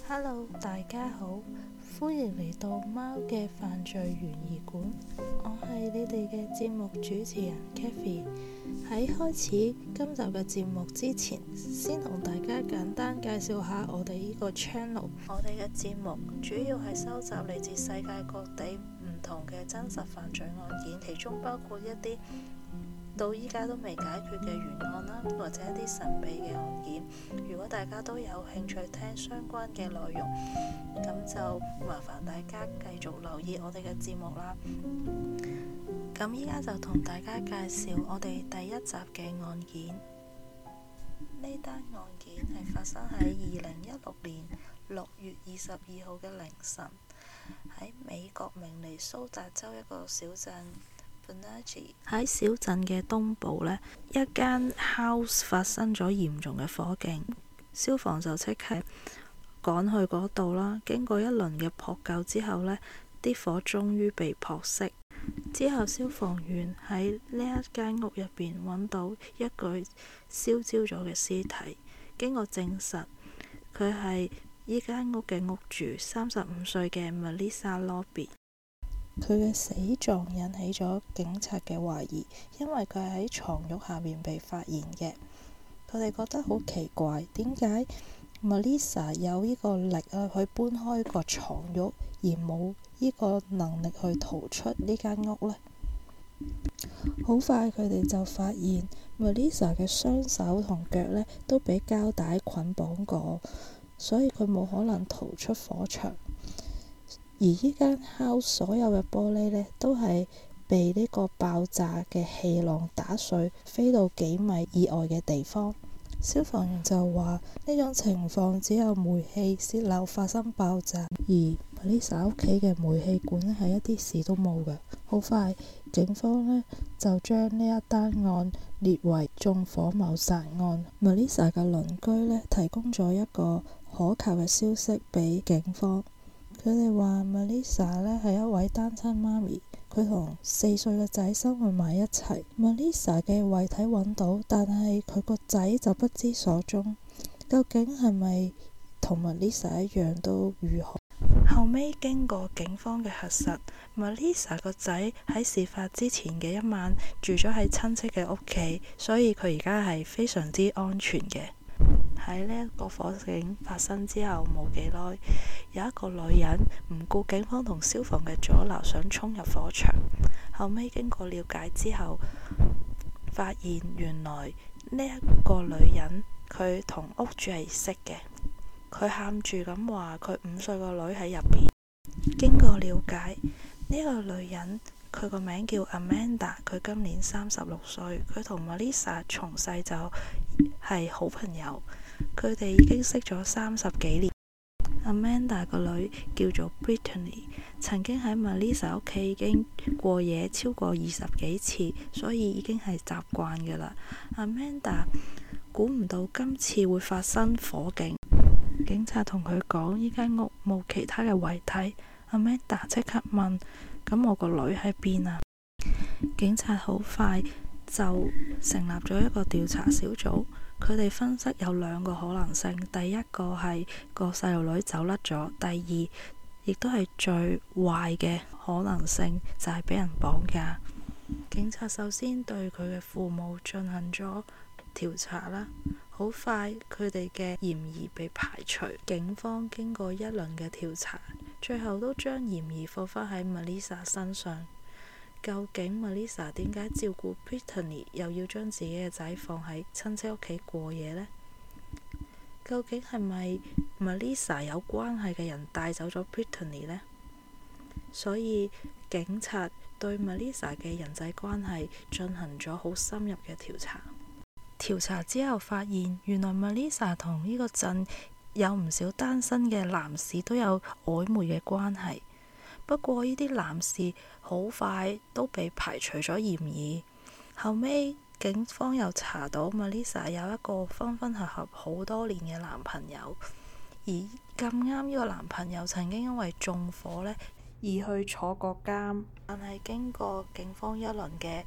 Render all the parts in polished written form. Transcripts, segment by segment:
Hello， 大家好，歡迎嚟到貓嘅犯罪懸疑館。我係你哋嘅節目主持人 Kathy。喺開始今集嘅節目之前，先同大家簡單介紹下我哋呢個 channel。我哋嘅節目主要係收集嚟自世界各地唔同嘅真實犯罪案件，其中包括一啲到依家都未解決嘅懸案啦，或者一啲神秘嘅案件。如果大家都有興趣聽相關嘅內容，咁就麻煩大家繼續留意我哋嘅節目啦。咁依家就同大家介紹我哋第一集嘅案件。呢單案件係發生喺2016年6月22號嘅凌晨，喺美國明尼蘇達州一個小鎮。喺小鎮嘅東部呢，一間 house 發生咗嚴重嘅火警，消防就即刻趕去嗰度啦。經過一輪嘅撲救之後呢，啲火終於被撲熄。之後消防員喺呢一間屋入邊揾到一具燒焦咗嘅屍體，經過證實，佢係呢間屋嘅屋主35歲嘅 Melissa Lobby。佢嘅死狀引起咗警察嘅懷疑，因為佢喺床褥下面被發現嘅。佢哋覺得好奇怪，點解 Melissa 有呢個力去搬開個床褥，而冇呢個能力去逃出呢間屋呢？好快佢哋就發現 Melissa 嘅雙手同腳呢都俾膠帶捆綁過，所以佢冇可能逃出火場。而呢間 house 所有嘅玻璃呢，都係被呢個爆炸嘅氣浪打碎，飛到幾米以外嘅地方。消防員就話呢種情況只有煤氣洩漏發生爆炸，而 Melissa 屋企嘅煤氣管呢係一啲事都冇嘅。好快，警方呢就將呢一單案列為縱火謀殺案。Melissa 嘅鄰居呢提供咗一個可靠嘅消息俾警方。佢哋話 Melissa 呢係一位單親媽咪，佢同4歲嘅仔生活埋一齊。Melissa 嘅遺體揾到，但係佢個仔就不知所蹤。究竟係咪同 Melissa 一樣都如何？後尾經過警方嘅核實， Melissa 個仔喺事發之前嘅一晚住咗喺親戚嘅屋企，所以佢而家係非常之安全嘅。喺呢一個火警發生之後冇幾耐，有一個女人唔顧警方同消防嘅阻撓，想衝入火場。後尾經過了解之後，發現原來呢一個女人佢同屋主係識嘅。佢喊住咁話佢5歲個女喺入邊。經過了解，呢個女人佢個名叫 Amanda， 佢今年36歲，佢同 Melissa 從細就係好朋友，佢哋已經識咗30幾年。Amanda 個女叫做 Brittany， 曾經喺 Melissa 屋企已經過夜超過20幾次，所以已經係習慣㗎啦。Amanda 估唔到今次會發生火警，警察同佢講呢間屋冇其他嘅遺體。Amanda 即刻問：咁我個女喺邊啊？警察好快就成立咗一個調查小組。佢哋分析有2個可能性，第一個係個細路女走甩咗，第二亦都係最壞嘅可能性就係俾人綁架。警察首先對佢嘅父母進行咗調查啦，好快佢哋嘅嫌疑被排除。警方經過一輪嘅調查，最後都將嫌疑放返喺 Melissa 身上。究竟 Melissa 點解照顧 Brittany 又要將自己嘅仔放喺親戚屋企過夜呢？究竟係咪 Melissa 有關係嘅人帶走咗 Brittany 呢？所以警察對 Melissa 嘅人際關係進行咗好深入嘅調查。調查之後發現，原來 Melissa 同呢個鎮有唔少單身嘅男士都有曖昧嘅關係。不過呢啲男士好快都被排除咗嫌疑。後尾警方又查到 Melissa 有一個分分合合好多年嘅男朋友，而咁啱呢個男朋友曾經因為縱火呢而去坐過監。但係經過警方一輪嘅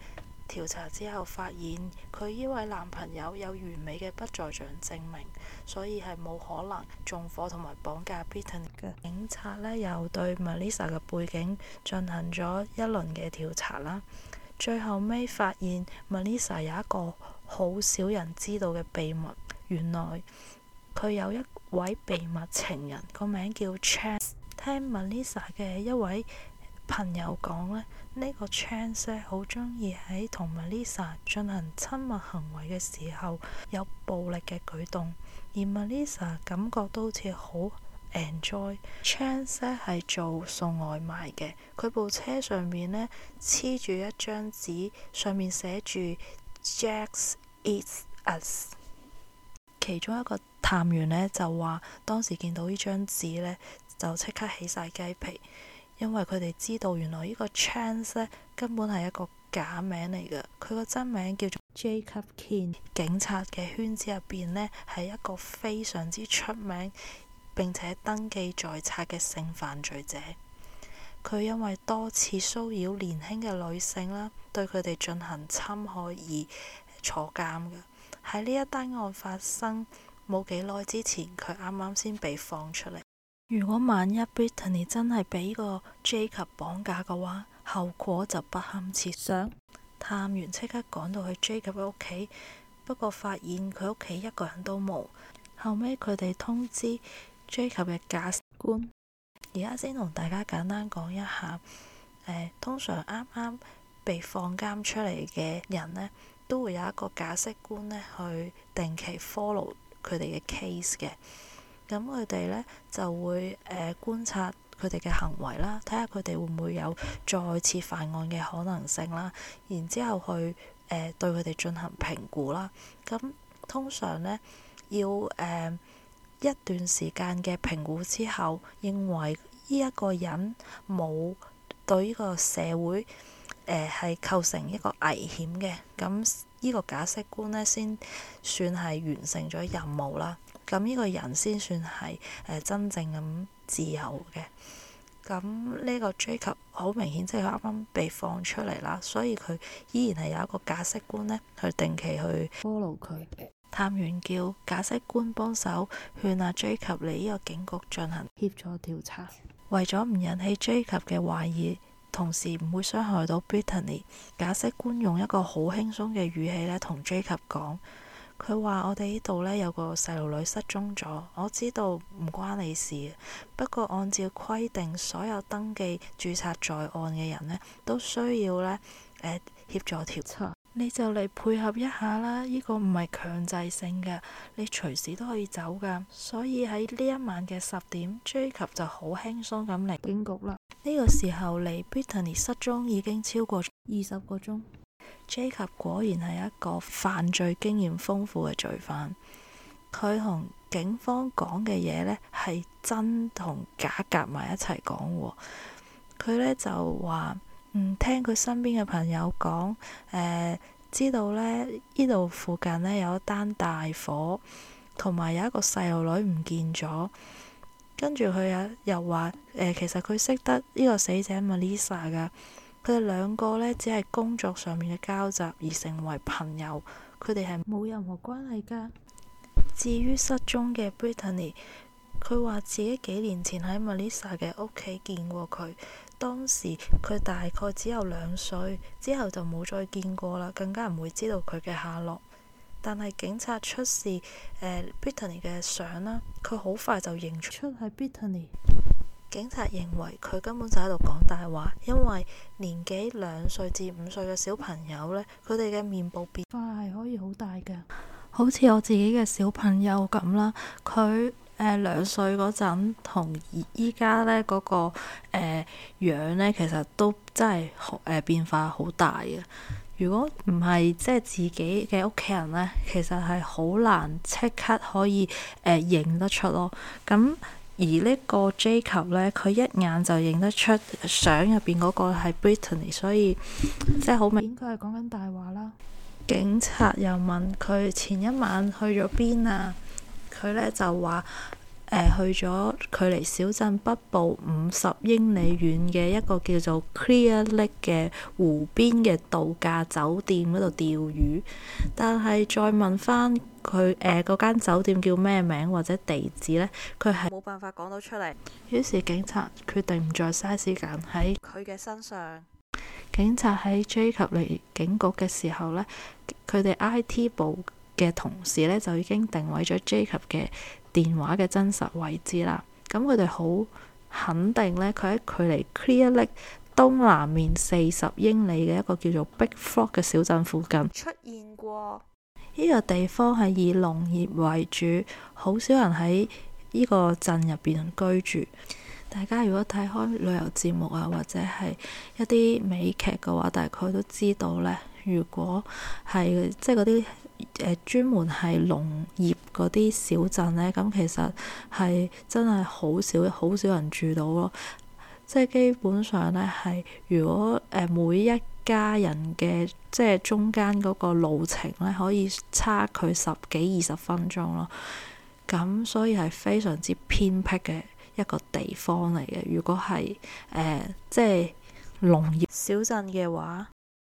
調查之後發現佢呢位男朋友有完美嘅不在場證明，所以係冇可能縱火同埋綁架 Brittany 嘅。警察呢又對 Melissa 嘅背景進行咗一輪嘅調查啦，最後尾發現 Melissa 有一個好少人知道嘅秘密，原來佢有一位秘密情人，個名叫 Chance。聽 Melissa 嘅一位朋友講呢，呢個 Chance 好中意喺同 Melissa 進行親密行為嘅時候有暴力嘅舉動，而 Melissa 感覺都好似好 enjoy。Chance 係做送外賣嘅，佢部車上面呢黐住一張紙，上面寫住 Jax Eats Us。其中一個探員呢就話，當時見到呢張紙呢，就即刻起晒雞皮，因為佢哋知道原來呢個 Chance 呢根本係一個假名嚟嘅，佢個真名叫做 Jacob King。警察嘅圈子入邊呢，係一個非常之出名並且登記在冊嘅性犯罪者。佢因為多次騷擾年輕嘅女性啦，對佢哋進行侵害而坐監嘅。喺呢一單案發生冇幾耐之前，佢啱啱先被放出嚟。如果萬一 Brittany 真係俾呢個 Jacob 綁架嘅話，後果就不堪設想。探員即刻趕到去 Jacob 嘅屋企，不過發現佢屋企一個人都冇。後尾佢哋通知 Jacob 嘅駕駛官。而家先同大家簡單講一下，通常啱啱被放監出嚟嘅人呢，都會有一個駕駛官呢去定期 follow 佢哋嘅 case 嘅。咁佢哋呢就會觀察佢哋嘅行為啦，睇下佢哋會唔會有再次犯案嘅可能性啦，然之後去對佢哋進行評估啦。咁通常呢，要一段時間嘅評估之後，認為呢一個人冇對呢個社會係構成一個危險嘅，咁呢個駕駛官呢先算係完成咗任務啦。咁呢個人先算係真正咁自由嘅。咁呢個 Jacob 好明顯即係佢啱啱被放出嚟啦，所以佢依然係有一個駕駛官呢去定期去 follow 佢。探員叫駕駛官幫手勸阿 Jacob 嚟呢個警局進行協助調查，為咗唔引起 Jacob 嘅懷疑，同時唔會傷害到 Brittany， 駕駛官用一個好輕鬆嘅語氣呢同 Jacob 講。佢話：我哋呢度呢有個細路女失蹤咗，我知道唔關你事，不過按照規定，所有登記註冊在案嘅人呢都需要呢協助調查。你就嚟配合一下啦，呢個唔係強制性嘅，你隨時都可以走噶。所以喺呢一晚嘅10點，Jacob 就好輕鬆咁嚟警局啦。呢個時候離 Brittany 失蹤已經超過20個鐘。Jacob 果然係一個犯罪經驗豐富嘅罪犯，佢同警方講嘅嘢呢係真同假夾埋一齊講喎。佢呢就話聽佢身邊嘅朋友講，知道呢度附近呢有一單大火，同埋有一個細路女唔見咗。跟住佢又話其實佢識得呢個死者 Melissa 噶。佢哋兩個呢，只係工作上面嘅交集而成為朋友，佢哋係冇任何關係噶。至於失蹤嘅 Brittany， 佢話自己幾年前喺 Melissa 嘅屋企見過佢，當時佢大概只有2歲，之後就冇再見過啦，更加唔會知道佢嘅下落。但係警察出示Brittany 嘅相啦，佢好快就認出係 Brittany。警察認為佢根本就喺度講大話，因為年紀2歲至5歲嘅小朋友呢，佢哋嘅面部變化係可以好大嘅，好似我自己嘅小朋友咁啦。佢2歲嗰陣同依家呢嗰個樣呢，其實都真係變化好大嘅。如果唔係即係自己嘅屋企人呢，其實係好難即刻可以認得出咯。咁而呢個 Jacob 呢，佢一眼就認得出相入邊嗰個係 Brittany， 所以即係好明顯佢係講緊大話啦。警察又問佢前一晚去咗邊啊？佢呢就話去咗距離小鎮北部50英里遠嘅一個叫做 Clear Lake 嘅湖邊嘅度假酒店嗰度釣魚，但係再問翻佢嗰間酒店叫咩名或者地址呢，佢係冇辦法講到出嚟。於是警察決定唔再嘥時間喺佢嘅身上。警察喺 Jacob 嚟警局嘅時候呢，佢哋 IT 部嘅同事呢就已經定位咗 Jacob 嘅電話嘅真實位置啦。咁佢哋好肯定呢，佢喺距離 Clear Lake 東南面40英里嘅一個叫做 Big Frog 嘅小鎮附近出現過。呢個地方係以農業為主，好少人喺呢個鎮入邊居住。大家如果睇開旅遊節目啊，或者係一啲美劇嘅話，大概都知道呢，如果係即係嗰啲專門係農業嗰啲小鎮呢，咁其實係真係好少人住到咯。即係基本上呢，係如果每一家人嘅即係中間嗰個路程呢，可以差距10幾20分鐘咯。咁所以係非常之偏僻嘅一個地方嚟嘅。如果係即係農業小鎮嘅話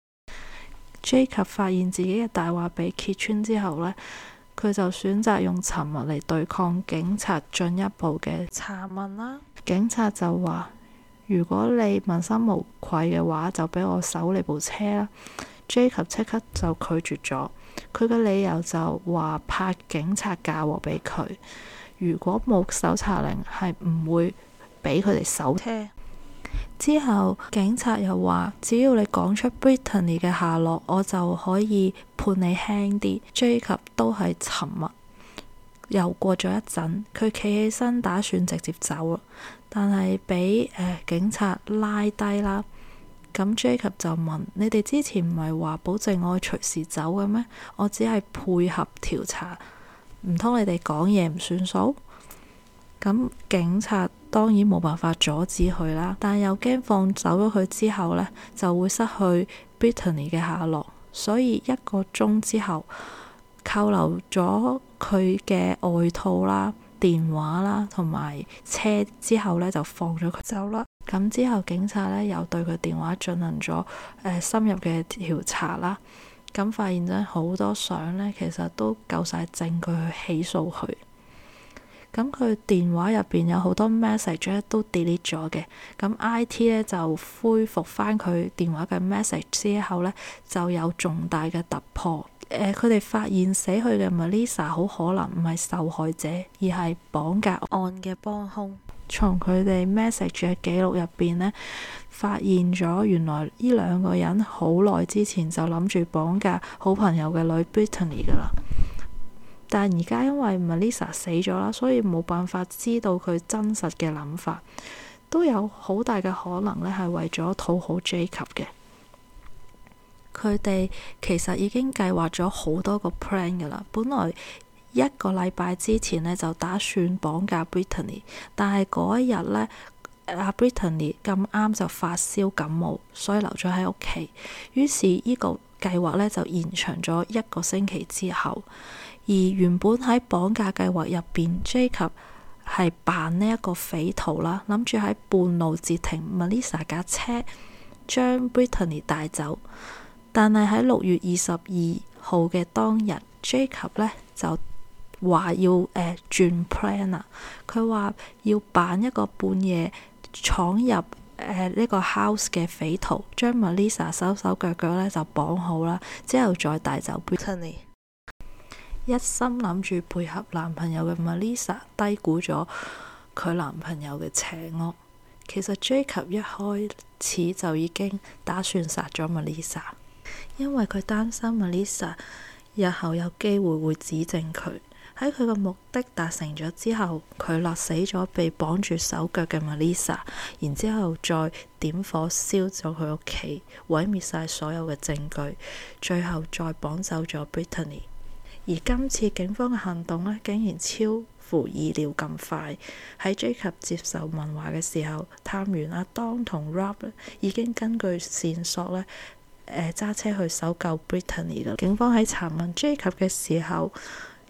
，Jacob 發現自己嘅大話被揭穿之後呢，佢就選擇用沉默嚟對抗警察進一步嘅查問啦。警察就話：如果你問心無愧嘅話，就俾我搜你部車啦。Jacob 即刻就拒絕咗，佢嘅理由就話怕警察嫁禍俾佢。如果冇搜查令，係唔會俾佢哋搜車。之後警察又話，只要你講出 Brittany 嘅下落，我就可以判你輕啲。Jacob 都係沉默。又過咗一陣，佢企起身打算直接走啦，但係俾警察拉低啦。咁 Jacob 就問：你哋之前唔係話保證我隨時走嘅咩？我只係配合調查，唔通你哋講嘢唔算數？咁警察當然冇辦法阻止佢啦，但又驚放走咗佢之後呢，就會失去 Brittany 嘅下落，所以1個鐘之後扣留咗佢嘅外套啦、電話啦同埋車之後呢，就放咗佢走啦。咁之後警察呢，又對佢電話進行咗深入嘅調查啦，咁發現咗好多相呢，其實都夠晒證據去起訴佢。咁佢電話入邊有好多 message 都 delete 咗嘅，咁 IT 呢就恢復翻佢電話嘅 message 之後呢，就有重大嘅突破。佢哋發現死去嘅 Melissa 好可能唔係受害者，而係綁架案嘅幫兇。從佢哋 message 嘅記錄入邊呢，發現咗原來呢2個人好耐之前就諗住綁架好朋友嘅女 Brittany 噶啦。但而家因為 Melissa 死咗啦，所以冇辦法知道佢真實嘅諗法，都有好大嘅可能呢係為咗討好 Jacob 嘅。佢哋其實已經計劃咗好多個 plan 噶啦，本來1個禮拜之前呢，就打算綁架 Brittany， 但係嗰一日呢，阿 Brittany 咁啱就發燒感冒，所以留咗喺屋企。於是呢個計劃呢，就延長咗1個星期之後。而原本喺綁架計劃入邊 Jacob 係扮呢一個匪徒啦，諗住喺半路截停 Melissa 架車，將 Brittany 帶走。但係喺6月22號嘅當日 Jacob 呢就話要轉 plan 啦。佢話要扮一個半夜闖入呢個 house 嘅匪徒，將 Melissa 手手腳腳呢就綁好啦，之後再帶走 Brittany。一心諗住配合男朋友嘅 Melissa 低估咗佢男朋友嘅邪惡。其實 Jacob 一開始就已經打算殺咗 Melissa， 因為佢擔心 Melissa 日後有機會會指證佢。喺佢嘅目的達成咗之後，佢勒死咗被綁住手腳嘅 Melissa， 然之後再點火燒咗佢屋企，毀滅晒所有嘅證據，最後再綁走咗 Brittany。而今次警方嘅行動呢，竟然超乎意料咁快。喺 Jacob 接受問話嘅時候，探員阿當同 Rob 已經根據線索呢揸車去搜救 Brittany 啦。警方喺查問 Jacob 嘅時候，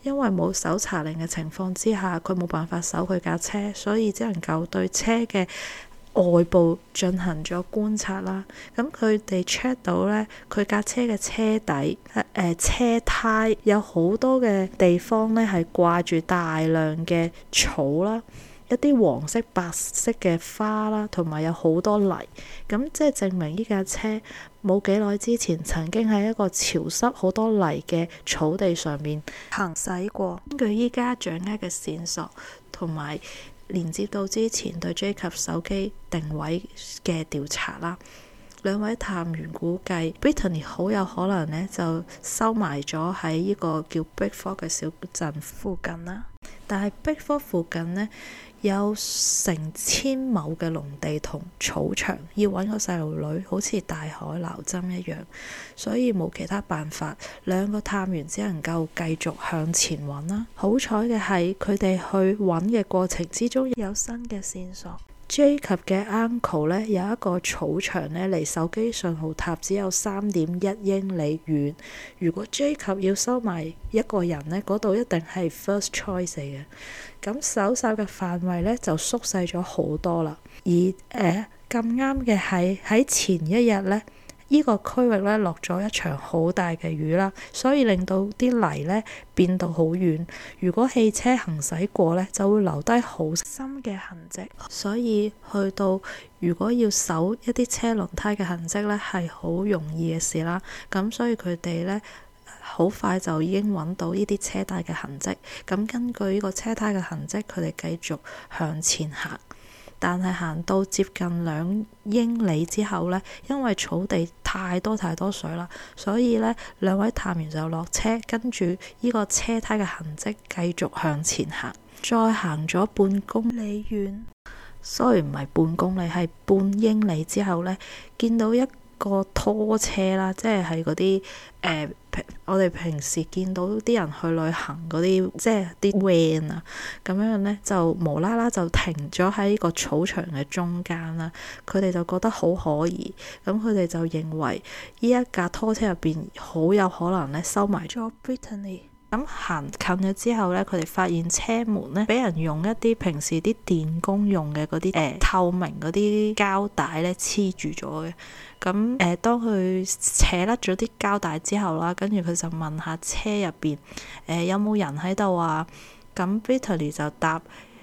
因為冇搜查令嘅情況之下，佢冇辦法搜佢架車，所以只能夠對車嘅外部進行咗觀察啦。咁佢哋 check 到呢，佢架車嘅車底車胎有好多嘅地方呢係掛住大量嘅草啦，一啲黃色白色嘅花啦，同埋有好多泥。咁即係證明呢架車冇幾耐之前曾經喺一個潮濕好多泥嘅草地上面行駛過。根據依家掌握嘅線索同埋連接到之前對 Jacob 手機定位嘅調查啦，兩位探員估計 Brittany 好有可能呢就收埋咗喺呢個叫 Bickford 嘅小鎮附近啦。但係 Bickford 附近呢，有成千畝嘅農地同草場，要揾個細路女好似大海撈針一樣，所以冇其他辦法，兩個探員只能夠繼續向前揾啦。好彩嘅係佢哋去揾嘅過程之中有新嘅線索。Jacob 嘅 uncle 呢，有一個草場呢，離手機信號塔只有3.1英里遠。如果 Jacob 要收埋一個人呢，嗰度一定係 first choice 嚟嘅。咁搜索嘅範圍呢，就縮細咗好多啦。而咁啱嘅係喺前一日呢，呢個區域呢落咗一場好大嘅雨啦，所以令到啲泥呢變到好軟。如果汽車行駛過呢，就會留低好深嘅痕跡。所以去到如果要搜一啲車輪胎嘅痕跡呢，係好容易嘅事啦。咁所以佢哋呢，好快就已經揾到呢啲車胎嘅痕跡。咁根據呢個車胎嘅痕跡，佢哋繼續向前行。但係行到接近2英里之後呢，因為草地太多水啦，所以呢兩位探員就落車，跟住呢個車胎嘅痕跡繼續向前行。再行咗半公里遠，sorry，唔係半公里，係半英里之後呢，見到一個拖車啦，即係嗰啲我哋平時見到啲人去旅行嗰啲，即係啲 van 啊，咁樣呢，就無啦啦就停咗喺呢個草場嘅中間啦。佢哋就覺得好可疑，咁佢哋就認為呢一架拖車入邊好有可能呢收埋咗 Brittany。咁行近咗之後呢，佢哋發現車門呢俾人用一啲平時啲電工用嘅嗰啲透明嗰啲膠帶呢黐住咗嘅。咁當佢扯甩咗啲膠帶之後啦，跟住佢就問下車入邊有冇人喺度啊？咁 Brittany 就答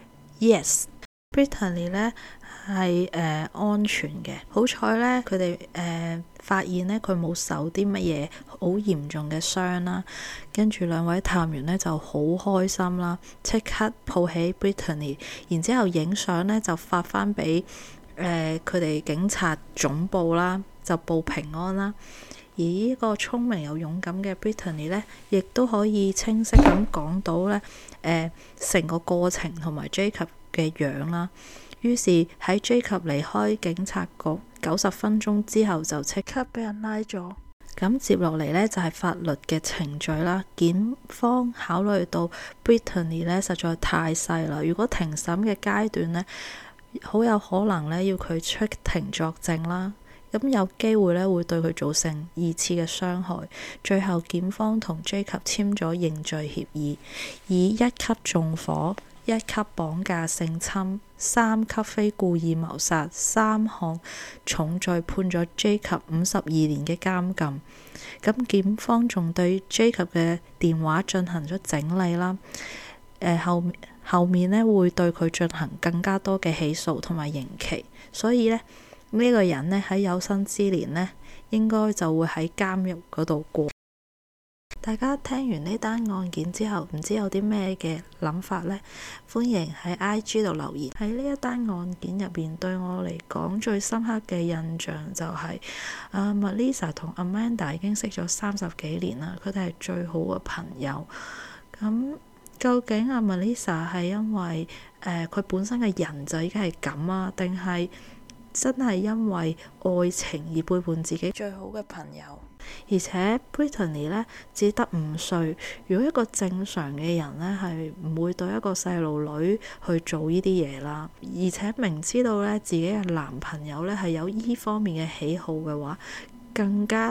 yes。Brittany 呢係安全嘅，好彩呢，佢哋發現呢，佢冇受啲乜嘢好嚴重嘅傷啦。跟住兩位探員呢就好開心啦，即刻抱起 Brittany， 然之後影相呢就發翻俾佢哋警察總部啦，就報平安啦。而呢個聰明又勇敢嘅 Brittany 呢，亦都可以清晰咁講到呢成個過程同埋 Jacob 嘅樣啦。於是喺 Jacob 離開警察局90分鐘之後，就即刻俾人拉咗。咁接落嚟呢，就係法律嘅程序啦。檢方考慮到 Brittany 呢實在太細啦，如果庭審嘅階段呢，好有可能呢要佢出庭作證啦。咁有機會呢會對佢造成2次嘅傷害。最後檢方同 Jacob 簽咗認罪協議，以1級縱火、1級綁架性侵、3級非故意謀殺3項重罪判咗 Jacob 52年嘅監禁。咁檢方仲對 Jacob 嘅電話進行咗整理啦。後面呢會對佢進行更加多嘅起訴同埋刑期。所以呢個人呢喺有生之年呢應該就會喺監獄嗰度過。大家聽完呢單案件之後，唔知有啲咩嘅諗法呢？歡迎喺 IG 度留言。喺呢一單案件入邊，對我嚟講最深刻嘅印象就係Melissa 同 Amanda 已經識咗30幾年啦，佢哋係最好嘅朋友。咁究竟Melissa 係因為佢本身嘅人就已經係咁啊，定係真係因為愛情而背叛自己最好嘅朋友？而且 Brittany 呢只得5歲，如果一個正常嘅人呢，係唔會對一個細路女去做呢啲嘢啦。而且明知道呢自己嘅男朋友呢係有呢方面嘅喜好嘅話，更加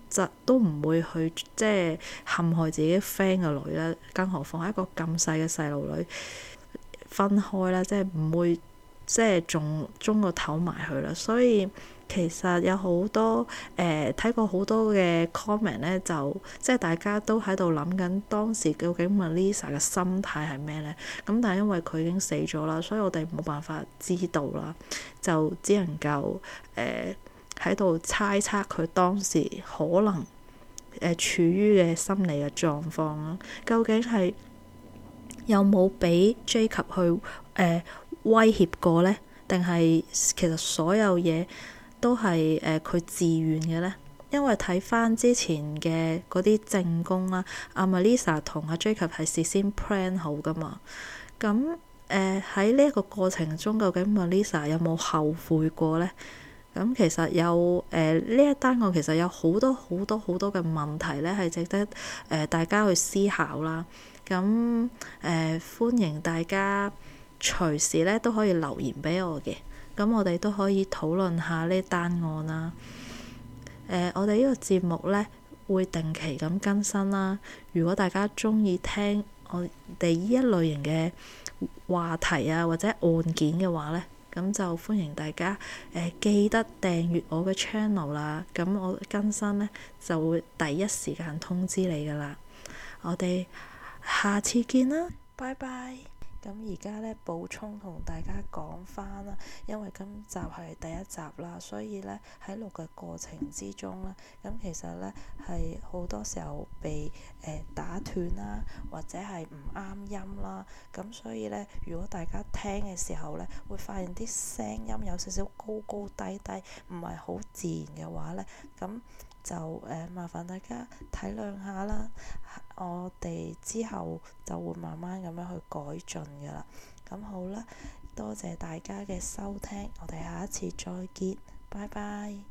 就都唔會去即係陷害自己 friend 嘅女啦，更何況係一個咁細嘅細路女分開啦，即係唔會即係中個頭埋去啦。所以其實有好多睇過好多嘅 comment 咧，就即係大家都喺度諗緊當時究竟 Melissa 嘅心態係咩咧？咁但係因為佢已經死咗啦，所以我哋冇辦法知道啦，就只能夠喺度猜測佢當時可能處於嘅心理嘅狀況啦。究竟係有冇俾 Jacob 去威脅過呢？定係其實所有嘢都係佢自願嘅呢？因為睇翻之前嘅嗰啲證供啦，阿 Melissa 同阿 Jacob 係事先 plan 好噶嘛。咁喺呢一個過程中，究竟 Melissa 有冇後悔過呢？咁其實有呢一單案其實有好多嘅問題咧，係值得大家去思考啦。咁歡迎大家隨時咧都可以留言俾我嘅，咁我哋都可以討論下呢單案啦。我哋呢個節目咧會定期咁更新啦。如果大家鍾意聽我哋呢一類型嘅話題啊，或者案件嘅話咧，咁就歡迎大家記得訂閱我嘅 channel 啦。咁我更新呢就會第一時間通知你噶啦。我哋下次見啦，拜拜。咁而家呢，補充同大家講翻啦，因為今集係第一集啦，所以呢喺錄嘅過程之中呢，咁其實呢係好多時候被打斷啦，或者係唔啱音啦，咁所以呢，如果大家聽嘅時候呢，會發現啲聲音有少少高高低低，唔係好自然嘅話呢，咁就麻煩大家體諒下啦。我哋之後就會慢慢咁樣去改進㗎啦。咁好啦，多謝大家嘅收聽，我哋下一次再見，拜拜。